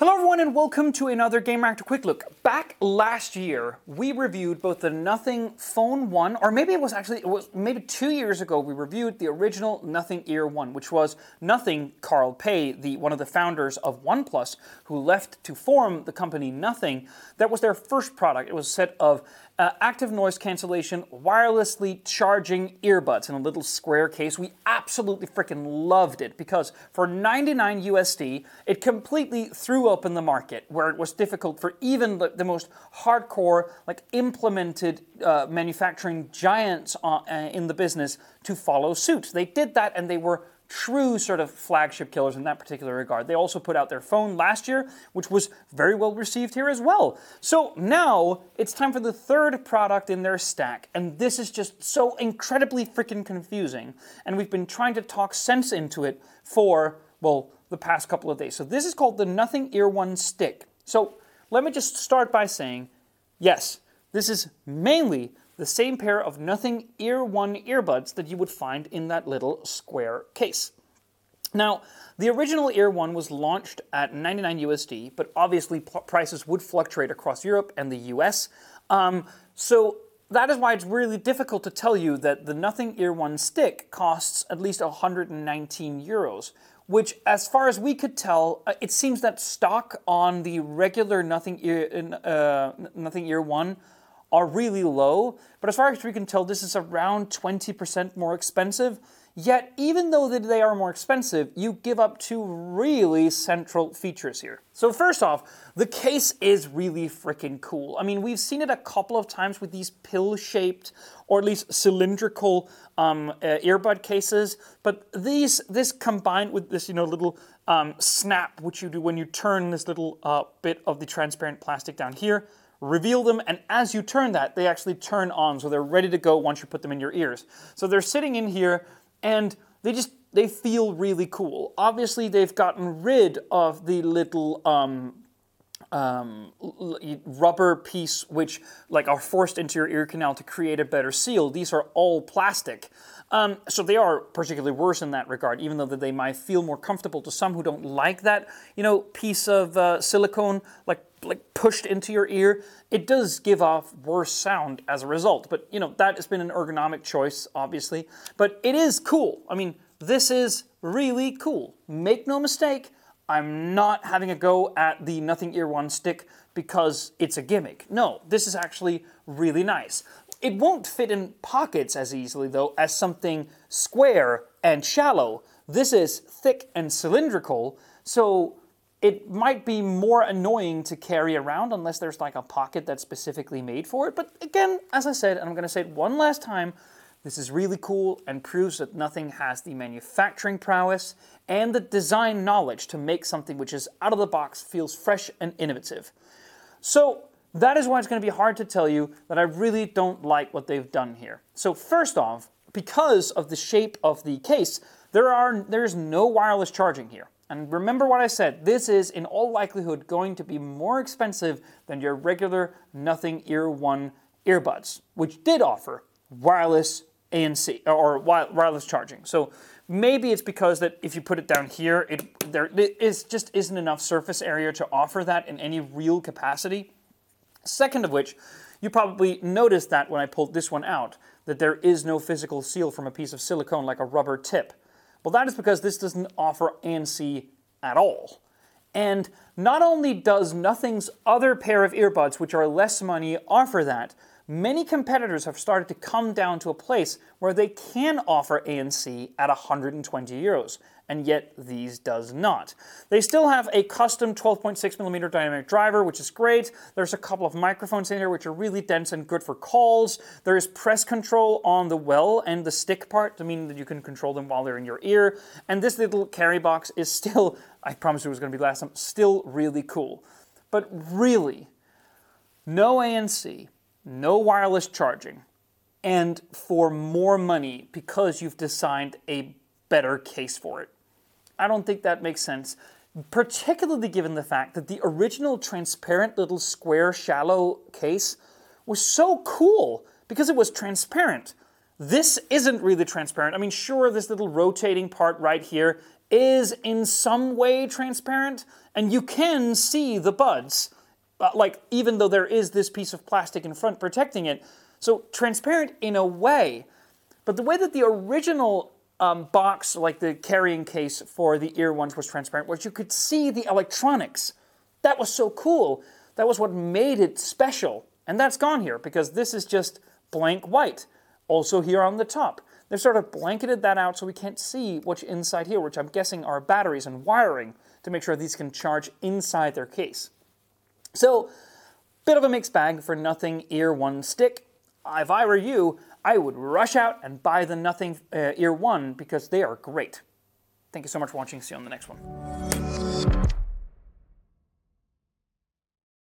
Hello everyone and welcome to another Game Reactor Quick Look. Back last year, we reviewed both the Nothing Phone 1, or maybe it was maybe 2 years ago, we reviewed the original Nothing Ear 1, which was Nothing, Carl Pei, one of the founders of OnePlus, who left to form the company Nothing. That was their first product. It was a set of active noise cancellation, wirelessly charging earbuds in a little square case. We absolutely freaking loved it because for 99 USD, it completely threw open the market where it was difficult for even the most hardcore, implemented manufacturing giants in the business to follow suit. They did that and they were true sort of flagship killers in that particular regard. They also put out their phone last year, which was very well received here as well. So now it's time for the third product in their stack, and this is just so incredibly freaking confusing. And we've been trying to talk sense into it for, well, the past couple of days. So this is called the Nothing Ear 1 Stick. So let me just start by saying, yes, this is mainly the same pair of Nothing Ear 1 earbuds that you would find in that little square case. Now, the original Ear 1 was launched at 99 USD, but obviously prices would fluctuate across Europe and the US. So that is why it's really difficult to tell you that the Nothing Ear 1 Stick costs at least 119 euros, which, as far as we could tell, it seems that stock on the regular Nothing Ear 1 are really low, but as far as we can tell, this is around 20% more expensive. Yet, even though they are more expensive, you give up two really central features here. So first off, the case is really freaking cool. I mean, we've seen it a couple of times with these pill-shaped, or at least cylindrical earbud cases, but this combined with this, little snap, which you do when you turn this little bit of the transparent plastic down here, reveal them, and as you turn that, they actually turn on, so they're ready to go once you put them in your ears. So they're sitting in here, and they feel really cool. Obviously, they've gotten rid of the little rubber piece which are forced into your ear canal to create a better seal. These are all plastic. So they are particularly worse in that regard, even though that they might feel more comfortable to some who don't like that, piece of silicone pushed into your ear. It does give off worse sound as a result, but that has been an ergonomic choice, obviously. But it is cool. I mean, this is really cool. Make no mistake, I'm not having a go at the Nothing Ear 1 Stick because it's a gimmick. No, this is actually really nice. It won't fit in pockets as easily, though, as something square and shallow. This is thick and cylindrical, so it might be more annoying to carry around unless there's a pocket that's specifically made for it. But again, as I said, and I'm going to say it one last time, this is really cool and proves that Nothing has the manufacturing prowess and the design knowledge to make something which is out of the box, feels fresh and innovative. So that is why it's going to be hard to tell you that I really don't like what they've done here. So first off, because of the shape of the case, there's no wireless charging here. And remember what I said, this is in all likelihood going to be more expensive than your regular Nothing Ear 1 earbuds, which did offer wireless ANC, or wireless charging. So maybe it's because that if you put it down here, there just isn't enough surface area to offer that in any real capacity. Second of which, you probably noticed that when I pulled this one out, that there is no physical seal from a piece of silicone like a rubber tip. Well, that is because this doesn't offer ANC at all. And not only does Nothing's other pair of earbuds, which are less money, offer that, many competitors have started to come down to a place where they can offer ANC at 120 euros, and yet these does not. They still have a custom 12.6mm dynamic driver, which is great. There's a couple of microphones in here which are really dense and good for calls. There is press control on the well and the stick part to mean that you can control them while they're in your ear. And this little carry box is still, I promised it was going to be last time, still really cool. But really, no ANC, no wireless charging, and for more money because you've designed a better case for it. I don't think that makes sense, particularly given the fact that the original transparent little square shallow case was so cool because it was transparent. This isn't really transparent. I mean, sure, this little rotating part right here is in some way transparent, and you can see the buds, like even though there is this piece of plastic in front protecting it. So transparent in a way, but the way that the original box, like the carrying case for the ear ones, was transparent, was you could see the electronics. That was so cool. That was what made it special. And that's gone here because this is just blank white. Also here on the top. They've sort of blanketed that out so we can't see what's inside here, which I'm guessing are batteries and wiring to make sure these can charge inside their case. So, bit of a mixed bag for Nothing Ear 1 Stick. If I were you, I would rush out and buy the Nothing Ear 1 because they are great. Thank you so much for watching. See you on the next one.